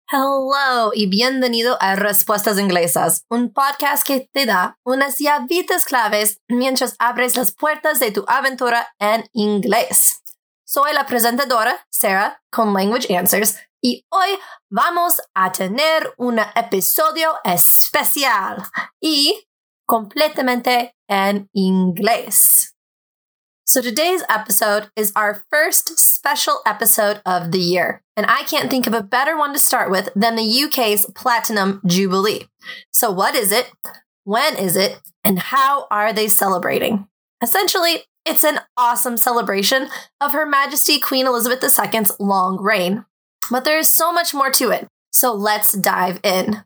Hello y bienvenido a Respuestas Inglesas, un podcast que te da unas llavitas claves mientras abres las puertas de tu aventura en inglés. Soy la presentadora, Sarah, con Language Answers, y hoy vamos a tener un episodio especial y completamente en inglés. So today's episode is our first special episode of the year, and I can't think of a better one to start with than the UK's Platinum Jubilee. So what is it? When is it? And how are they celebrating? Essentially, it's an awesome celebration of Her Majesty Queen Elizabeth II's long reign. But there is so much more to it, so let's dive in.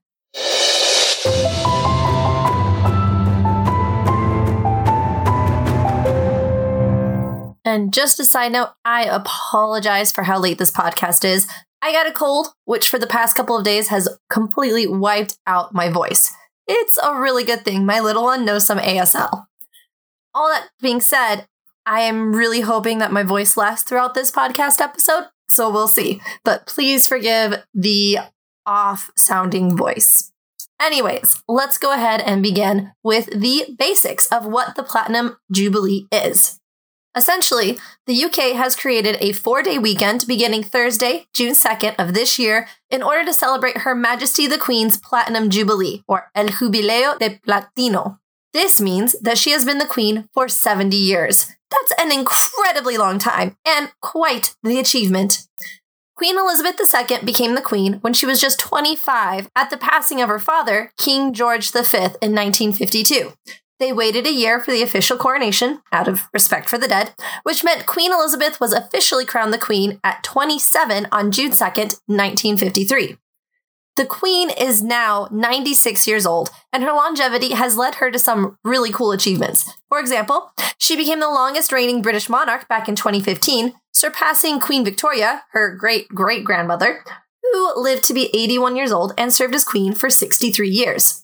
And just a side note, I apologize for how late this podcast is. I got a cold, which for the past couple of days has completely wiped out my voice. It's a really good thing. My little one knows some ASL. All that being said, I am really hoping that my voice lasts throughout this podcast episode, so we'll see. But please forgive the off-sounding voice. Anyways, let's go ahead and begin with the basics of what the Platinum Jubilee is. Essentially, the UK has created a 4-day weekend beginning Thursday, June 2nd of this year in order to celebrate Her Majesty the Queen's Platinum Jubilee, or El Jubileo de Platino. This means that she has been the Queen for 70 years. That's an incredibly long time, and quite the achievement. Queen Elizabeth II became the Queen when she was just 25 at the passing of her father, King George V, in 1952. They waited a year for the official coronation, out of respect for the dead, which meant Queen Elizabeth was officially crowned the Queen at 27 on June 2nd, 1953. The Queen is now 96 years old, and her longevity has led her to some really cool achievements. For example, she became the longest reigning British monarch back in 2015, surpassing Queen Victoria, her great-great-grandmother, who lived to be 81 years old and served as Queen for 63 years.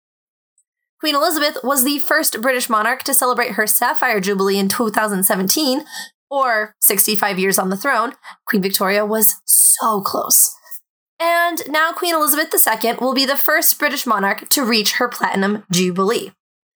Queen Elizabeth was the first British monarch to celebrate her Sapphire Jubilee in 2017, or 65 years on the throne. Queen Victoria was so close. And now Queen Elizabeth II will be the first British monarch to reach her Platinum Jubilee.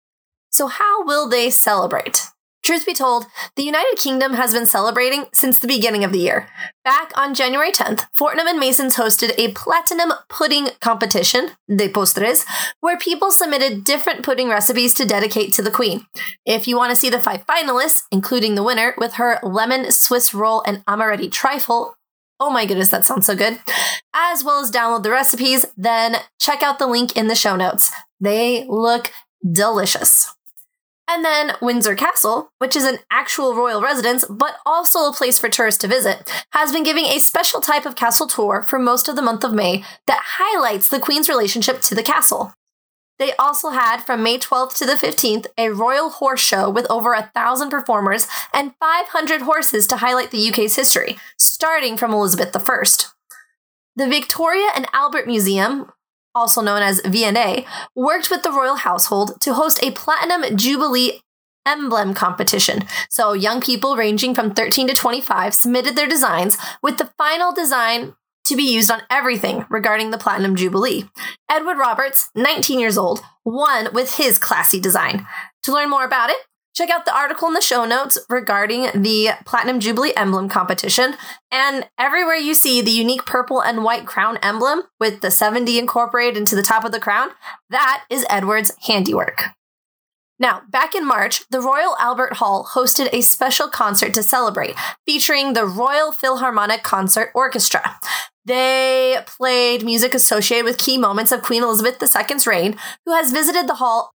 So how will they celebrate? Truth be told, the United Kingdom has been celebrating since the beginning of the year. Back on January 10th, Fortnum & Mason's hosted a platinum pudding competition, de postres, where people submitted different pudding recipes to dedicate to the Queen. If you want to see the 5 finalists, including the winner with her lemon Swiss roll and amaretti trifle, oh my goodness, that sounds so good, as well as download the recipes, then check out the link in the show notes. They look delicious. And then Windsor Castle, which is an actual royal residence, but also a place for tourists to visit, has been giving a special type of castle tour for most of the month of May that highlights the Queen's relationship to the castle. They also had, from May 12th to the 15th, a royal horse show with over 1,000 performers and 500 horses to highlight the UK's history, starting from Elizabeth I. The Victoria and Albert Museum, also known as V&A, worked with the royal household to host a Platinum Jubilee emblem competition. So young people ranging from 13 to 25 submitted their designs, with the final design to be used on everything regarding the Platinum Jubilee. Edward Roberts, 19 years old, won with his classy design. To learn more about it, check out the article in the show notes regarding the Platinum Jubilee emblem competition, and everywhere you see the unique purple and white crown emblem with the 70 incorporated into the top of the crown, that is Edward's handiwork. Now, back in March, the Royal Albert Hall hosted a special concert to celebrate, featuring the Royal Philharmonic Concert Orchestra. They played music associated with key moments of Queen Elizabeth II's reign, who has visited the hall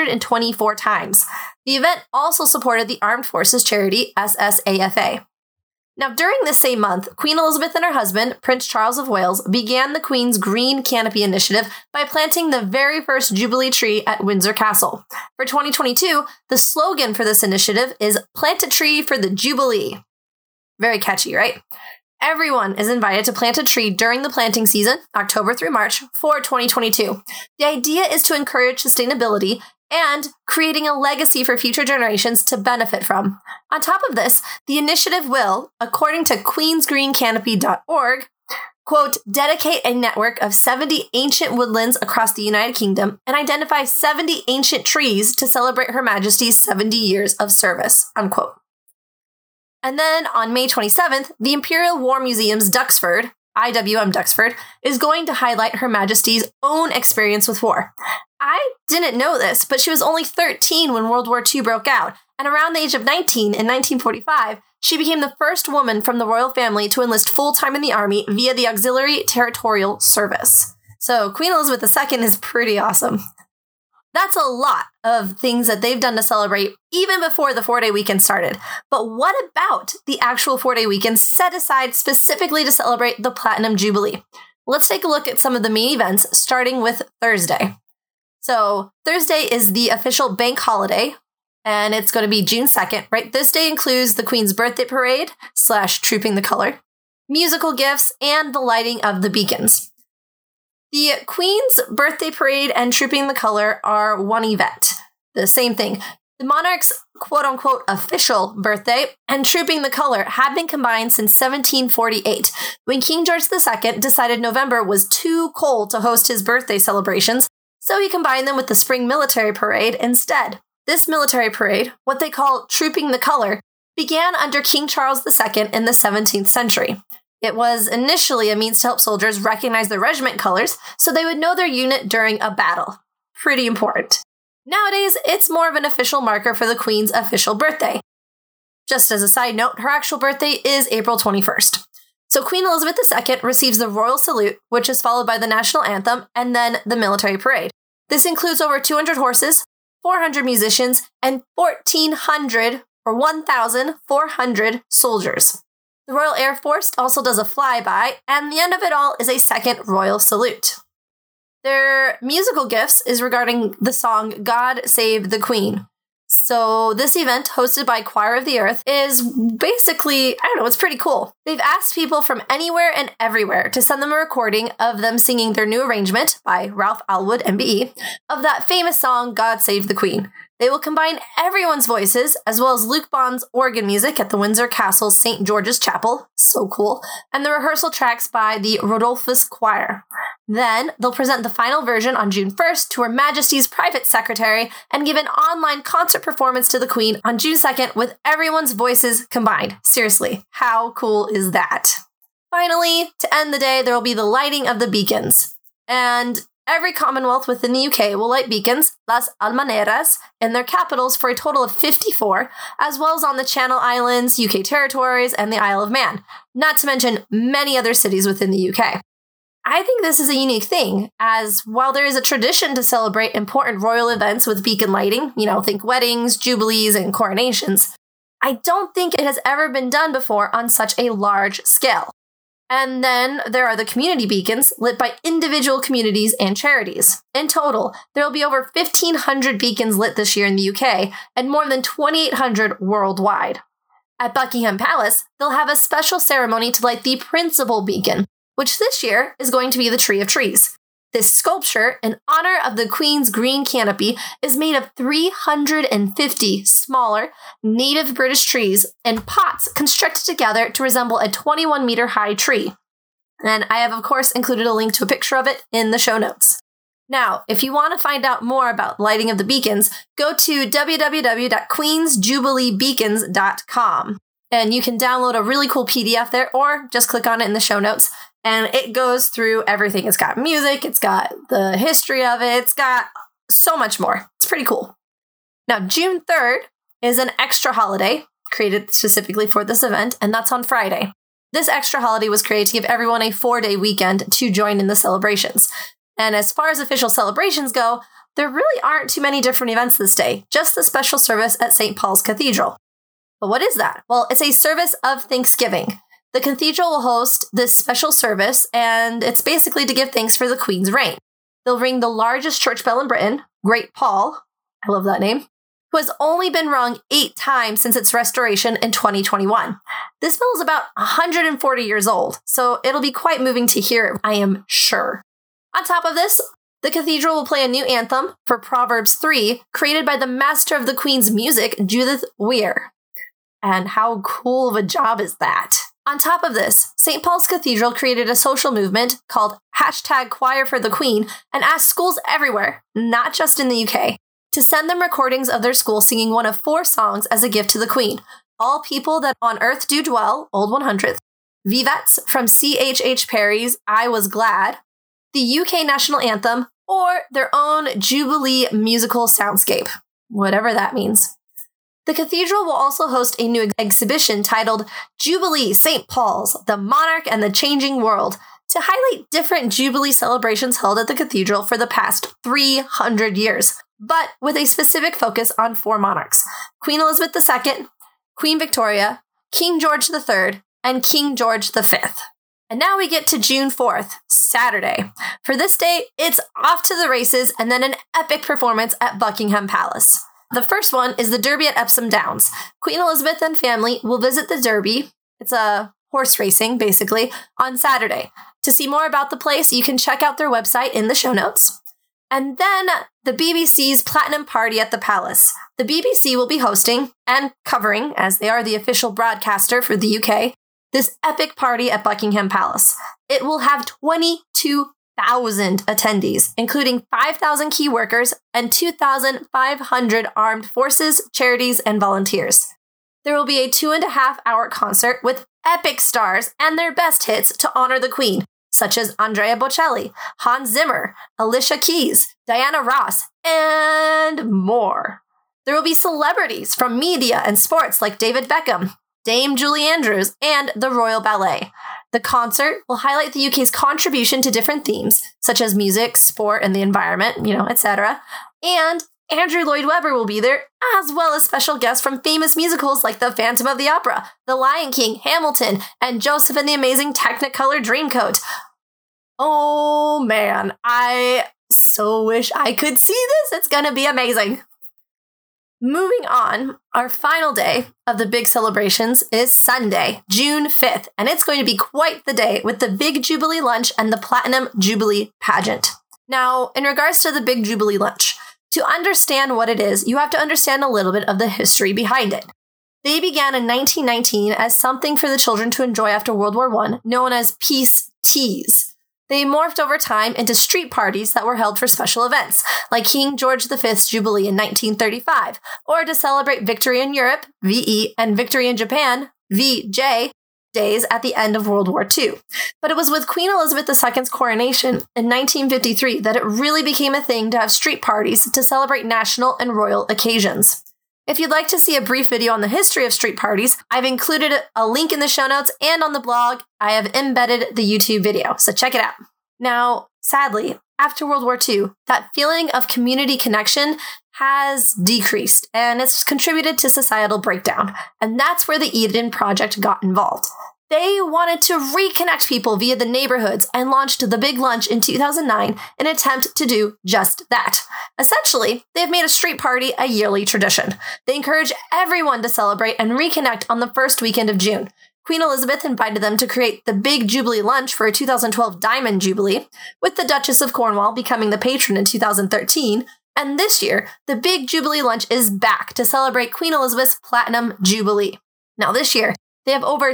124 times. The event also supported the Armed Forces charity SSAFA. Now, during this same month, Queen Elizabeth and her husband, Prince Charles of Wales, began the Queen's Green Canopy Initiative by planting the very first Jubilee tree at Windsor Castle. For 2022, the slogan for this initiative is "Plant a Tree for the Jubilee." Very catchy, right? Everyone is invited to plant a tree during the planting season, October through March, for 2022. The idea is to encourage sustainability and creating a legacy for future generations to benefit from. On top of this, the initiative will, according to queensgreencanopy.org, quote, dedicate a network of 70 ancient woodlands across the United Kingdom and identify 70 ancient trees to celebrate Her Majesty's 70 years of service, unquote. And then on May 27th, the Imperial War Museum's Duxford, IWM Duxford, is going to highlight Her Majesty's own experience with war. I didn't know this, but she was only 13 when World War II broke out, and around the age of 19 in 1945, she became the first woman from the royal family to enlist full-time in the army via the Auxiliary Territorial Service. So Queen Elizabeth II is pretty awesome. That's a lot of things that they've done to celebrate even before the 4-day weekend started. But what about the actual 4-day weekend set aside specifically to celebrate the Platinum Jubilee? Let's take a look at some of the main events, starting with Thursday. So Thursday is the official bank holiday, and it's going to be June 2nd, right? This day includes the Queen's birthday parade / Trooping the Colour, musical gifts, and the lighting of the beacons. The Queen's birthday parade and Trooping the Colour are one event. The same thing. The monarch's quote-unquote official birthday and Trooping the Colour had been combined since 1748, when King George II decided November was too cold to host his birthday celebrations, so he combined them with the Spring Military Parade instead. This military parade, what they call Trooping the Colour, began under King Charles II in the 17th century. It was initially a means to help soldiers recognize their regiment colors so they would know their unit during a battle. Pretty important. Nowadays, it's more of an official marker for the Queen's official birthday. Just as a side note, her actual birthday is April 21st. So Queen Elizabeth II receives the Royal Salute, which is followed by the National Anthem and then the Military Parade. This includes over 200 horses, 400 musicians, and 1,400 soldiers. The Royal Air Force also does a flyby, and the end of it all is a second Royal Salute. Their musical gifts is regarding the song God Save the Queen. So this event, hosted by Choir of the Earth, is basically, it's pretty cool. They've asked people from anywhere and everywhere to send them a recording of them singing their new arrangement by Ralph Alwood, MBE, of that famous song, God Save the Queen. They will combine everyone's voices, as well as Luke Bond's organ music at the Windsor Castle's St. George's Chapel, so cool, and the rehearsal tracks by the Rodolphus Choir. Then, they'll present the final version on June 1st to Her Majesty's private secretary and give an online concert performance to the Queen on June 2nd with everyone's voices combined. Seriously, how cool is that? Finally, to end the day, there will be the lighting of the beacons. And every Commonwealth within the UK will light beacons, Las Almaneras, in their capitals for a total of 54, as well as on the Channel Islands, UK territories, and the Isle of Man, not to mention many other cities within the UK. I think this is a unique thing, as while there is a tradition to celebrate important royal events with beacon lighting, think weddings, jubilees, and coronations, I don't think it has ever been done before on such a large scale. And then there are the community beacons lit by individual communities and charities. In total, there will be over 1,500 beacons lit this year in the UK and more than 2,800 worldwide. At Buckingham Palace, they'll have a special ceremony to light the principal beacon, which this year is going to be the Tree of Trees. This sculpture, in honor of the Queen's green canopy, is made of 350 smaller, native British trees in pots constructed together to resemble a 21-meter-high tree. And I have, of course, included a link to a picture of it in the show notes. Now, if you want to find out more about lighting of the beacons, go to www.queensjubileebeacons.com. And you can download a really cool PDF there, or just click on it in the show notes. And it goes through everything. It's got music, it's got the history of it, it's got so much more. It's pretty cool. Now, June 3rd is an extra holiday created specifically for this event, and that's on Friday. This extra holiday was created to give everyone a 4-day weekend to join in the celebrations. And as far as official celebrations go, there really aren't too many different events this day, just the special service at St. Paul's Cathedral. But what is that? Well, it's a service of Thanksgiving. The cathedral will host this special service, and it's basically to give thanks for the Queen's reign. They'll ring the largest church bell in Britain, Great Paul, I love that name, who has only been rung 8 times since its restoration in 2021. This bell is about 140 years old, so it'll be quite moving to hear it, I am sure. On top of this, the cathedral will play a new anthem for Proverbs 3, created by the master of the Queen's music, Judith Weir. And how cool of a job is that? On top of this, St. Paul's Cathedral created a social movement called #ChoirForTheQueen and asked schools everywhere, not just in the UK, to send them recordings of their school singing one of 4 songs as a gift to the Queen. All People That on Earth Do Dwell, Old 100th, Vivets from C.H.H. Perry's I Was Glad, the UK National Anthem, or their own Jubilee musical soundscape, whatever that means. The cathedral will also host a new exhibition titled Jubilee St. Paul's, The Monarch and the Changing World, to highlight different Jubilee celebrations held at the cathedral for the past 300 years, but with a specific focus on 4 monarchs: Queen Elizabeth II, Queen Victoria, King George III, and King George V. And now we get to June 4th, Saturday. For this day, it's off to the races and then an epic performance at Buckingham Palace. The first one is the Derby at Epsom Downs. Queen Elizabeth and family will visit the Derby. It's a horse racing, basically, on Saturday. To see more about the place, you can check out their website in the show notes. And then the BBC's Platinum Party at the Palace. The BBC will be hosting and covering, as they are the official broadcaster for the UK, this epic party at Buckingham Palace. It will have 22,000 attendees, including 5,000 key workers and 2,500 armed forces, charities, and volunteers. There will be a 2.5-hour concert with epic stars and their best hits to honor the Queen, such as Andrea Bocelli, Hans Zimmer, Alicia Keys, Diana Ross, and more. There will be celebrities from media and sports like David Beckham, Dame Julie Andrews, and the Royal Ballet. The concert will highlight the UK's contribution to different themes, such as music, sport, and the environment, etc. And Andrew Lloyd Webber will be there, as well as special guests from famous musicals like The Phantom of the Opera, The Lion King, Hamilton, and Joseph and the Amazing Technicolor Dreamcoat. Oh man, I so wish I could see this. It's gonna be amazing. Moving on, our final day of the big celebrations is Sunday, June 5th, and it's going to be quite the day with the Big Jubilee Lunch and the Platinum Jubilee Pageant. Now, in regards to the Big Jubilee Lunch, to understand what it is, you have to understand a little bit of the history behind it. They began in 1919 as something for the children to enjoy after World War I, known as peace teas. They morphed over time into street parties that were held for special events, like King George V's Jubilee in 1935, or to celebrate victory in Europe, VE, and victory in Japan, VJ, days at the end of World War II. But it was with Queen Elizabeth II's coronation in 1953 that it really became a thing to have street parties to celebrate national and royal occasions. If you'd like to see a brief video on the history of street parties, I've included a link in the show notes, and on the blog, I have embedded the YouTube video, so check it out. Now, sadly, after World War II, that feeling of community connection has decreased, and it's contributed to societal breakdown, and that's where the Eden Project got involved. They wanted to reconnect people via the neighborhoods and launched the Big Lunch in 2009 in an attempt to do just that. Essentially, they've made a street party a yearly tradition. They encourage everyone to celebrate and reconnect on the first weekend of June. Queen Elizabeth invited them to create the Big Jubilee Lunch for a 2012 Diamond Jubilee, with the Duchess of Cornwall becoming the patron in 2013, and this year, the Big Jubilee Lunch is back to celebrate Queen Elizabeth's Platinum Jubilee. Now this year, they have over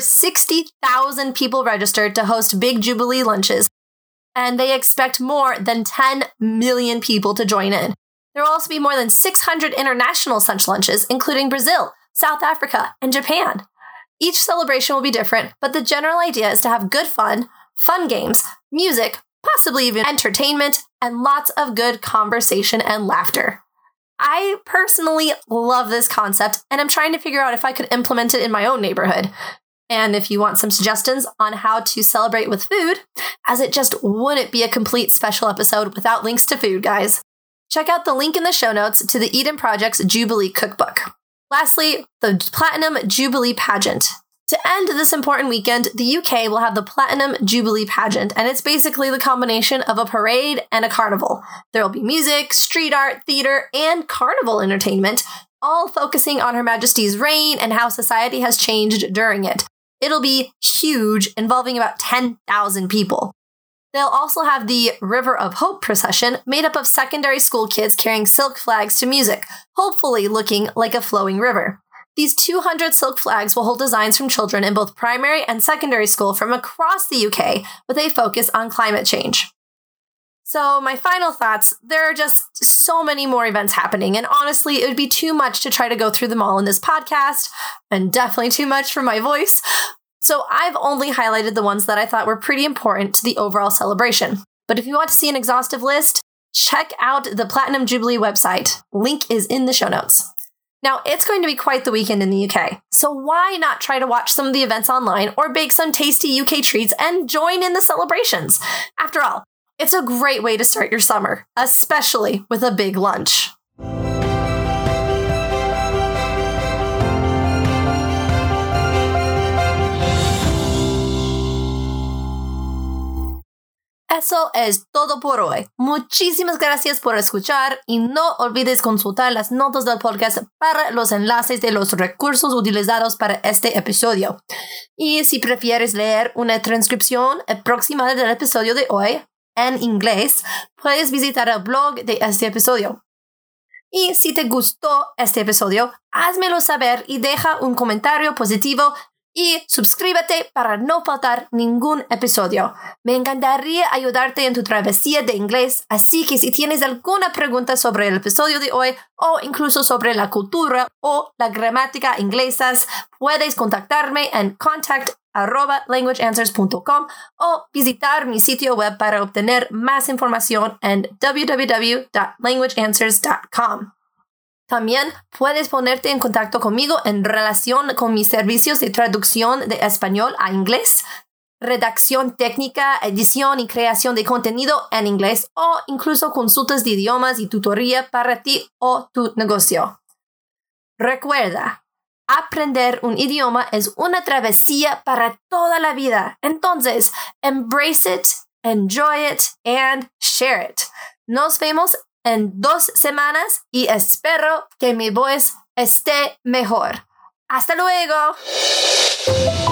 60,000 people registered to host Big Jubilee lunches, and they expect more than 10 million people to join in. There will also be more than 600 international such lunches, including Brazil, South Africa, and Japan. Each celebration will be different, but the general idea is to have good fun games, music, possibly even entertainment, and lots of good conversation and laughter. I personally love this concept, and I'm trying to figure out if I could implement it in my own neighborhood. And if you want some suggestions on how to celebrate with food, as it just wouldn't be a complete special episode without links to food, guys, check out the link in the show notes to the Eden Project's Jubilee Cookbook. Lastly, the Platinum Jubilee Pageant. To end this important weekend, the UK will have the Platinum Jubilee Pageant, and it's basically the combination of a parade and a carnival. There will be music, street art, theater, and carnival entertainment, all focusing on Her Majesty's reign and how society has changed during it. It'll be huge, involving about 10,000 people. They'll also have the River of Hope procession, made up of secondary school kids carrying silk flags to music, hopefully looking like a flowing river. These 200 silk flags will hold designs from children in both primary and secondary school from across the UK with a focus on climate change. So my final thoughts, there are just so many more events happening, and honestly, it would be too much to try to go through them all in this podcast, and definitely too much for my voice. So I've only highlighted the ones that I thought were pretty important to the overall celebration. But if you want to see an exhaustive list, check out the Platinum Jubilee website. Link is in the show notes. Now, it's going to be quite the weekend in the UK, so why not try to watch some of the events online or bake some tasty UK treats and join in the celebrations? After all, it's a great way to start your summer, especially with a big lunch. Eso es todo por hoy. Muchísimas gracias por escuchar y no olvides consultar las notas del podcast para los enlaces de los recursos utilizados para este episodio. Y si prefieres leer una transcripción aproximada del episodio de hoy en inglés, puedes visitar el blog de este episodio. Y si te gustó este episodio, házmelo saber y deja un comentario positivo y suscríbete para no faltar ningún episodio. Me encantaría ayudarte en tu travesía de inglés, así que si tienes alguna pregunta sobre el episodio de hoy o incluso sobre la cultura o la gramática inglesas, puedes contactarme en contact@languageanswers.com o visitar mi sitio web para obtener más información en www.languageanswers.com. También puedes ponerte en contacto conmigo en relación con mis servicios de traducción de español a inglés, redacción técnica, edición y creación de contenido en inglés o incluso consultas de idiomas y tutoría para ti o tu negocio. Recuerda, aprender un idioma es una travesía para toda la vida. Entonces, embrace it, enjoy it, and share it. Nos vemos en 2 semanas y espero que mi voz esté mejor. ¡Hasta luego!